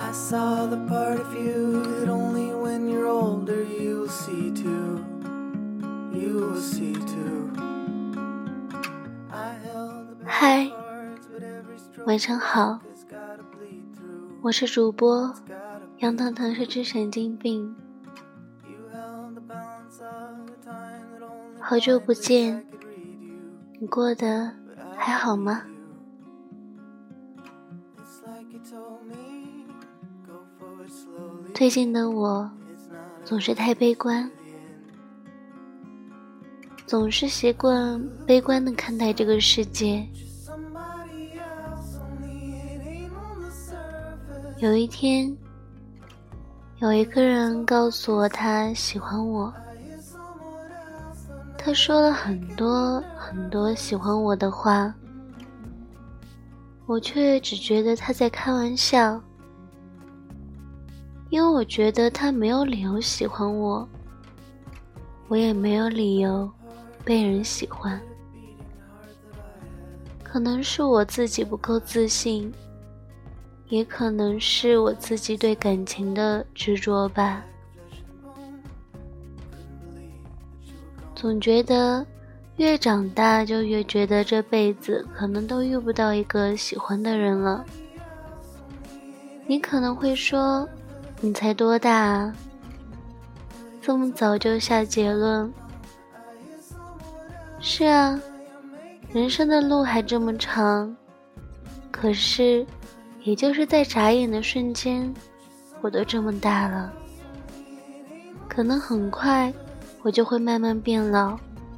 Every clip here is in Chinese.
I saw the part of you that only when you're older you'll see too. You will see too. 嗨，晚上好，我是主播杨糖糖是只神经病。好久不见，你过得还好吗？最近的我总是太悲观，总是习惯悲观地看待这个世界。有一天，有一个人告诉我他喜欢我，他说了很多很多喜欢我的话，我却只觉得他在开玩笑，因为我觉得他没有理由喜欢我，我也没有理由被人喜欢。可能是我自己不够自信，也可能是我自己对感情的执着吧。总觉得越长大就越觉得这辈子可能都遇不到一个喜欢的人了。你可能会说，你才多大啊，这么早就下结论。是啊，人生的路还这么长，可是也就是在眨眼的瞬间，我都这么大了。可能很快我就会慢慢变老。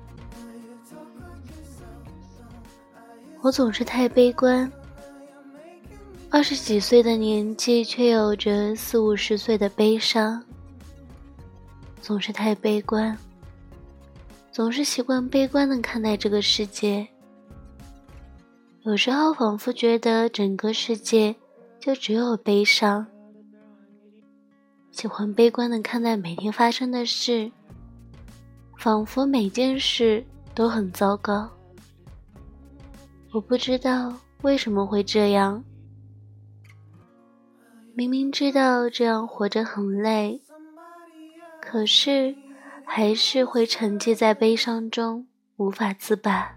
我总是太悲观，20几岁的年纪却有着40、50岁的悲伤。总是太悲观，总是习惯悲观地看待这个世界。有时候仿佛觉得整个世界就只有悲伤，喜欢悲观地看待每天发生的事，仿佛每件事都很糟糕。我不知道为什么会这样，明明知道这样活着很累，可是还是会沉寂在悲伤中无法自拔。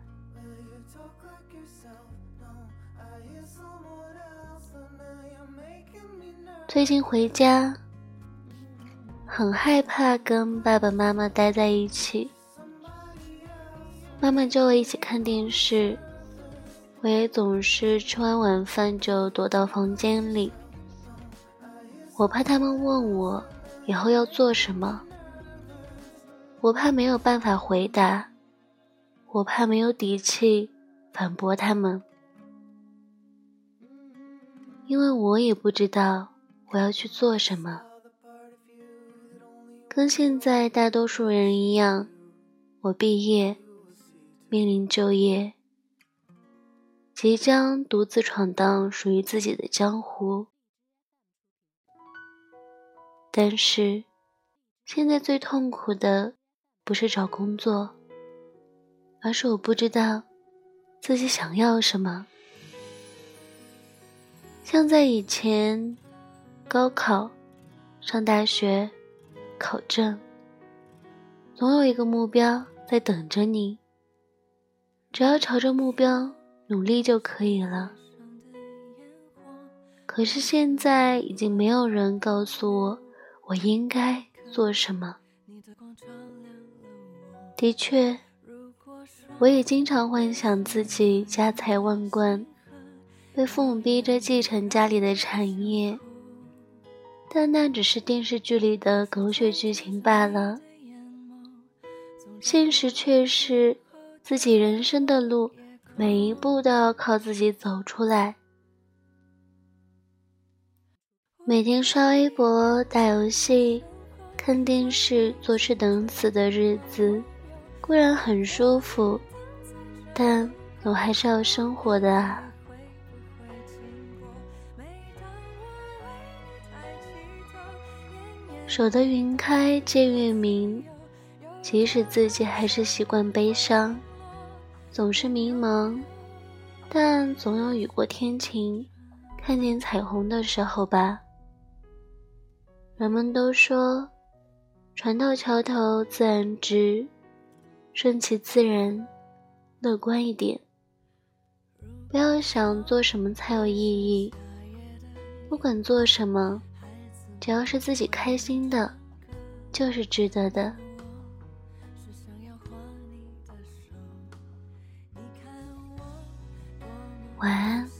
最近回家，很害怕跟爸爸妈妈待在一起。妈妈叫我一起看电视，我也总是吃完晚饭就躲到房间里。我怕他们问我以后要做什么，我怕没有办法回答，我怕没有底气反驳他们，因为我也不知道我要去做什么。跟现在大多数人一样，我毕业，面临就业，即将独自闯荡属于自己的江湖。但是现在最痛苦的不是找工作，而是我不知道自己想要什么。像在以前，高考、上大学、考证，总有一个目标在等着你，只要朝着目标努力就可以了。可是现在已经没有人告诉我我应该做什么。的确，我也经常幻想自己家财万贯，被父母逼着继承家里的产业，但那只是电视剧里的狗血剧情罢了。现实却是自己人生的路每一步都要靠自己走出来。每天刷微博、打游戏、看电视、坐吃等死的日子固然很舒服，但总还是要生活的啊。守得云开见月明，即使自己还是习惯悲伤，总是迷茫，但总有雨过天晴，看见彩虹的时候吧。 人们都说船到桥头自然直，顺其自然，乐观一点，不要想做什么才有意义，不管做什么，只要是自己开心的，就是值得的。晚安。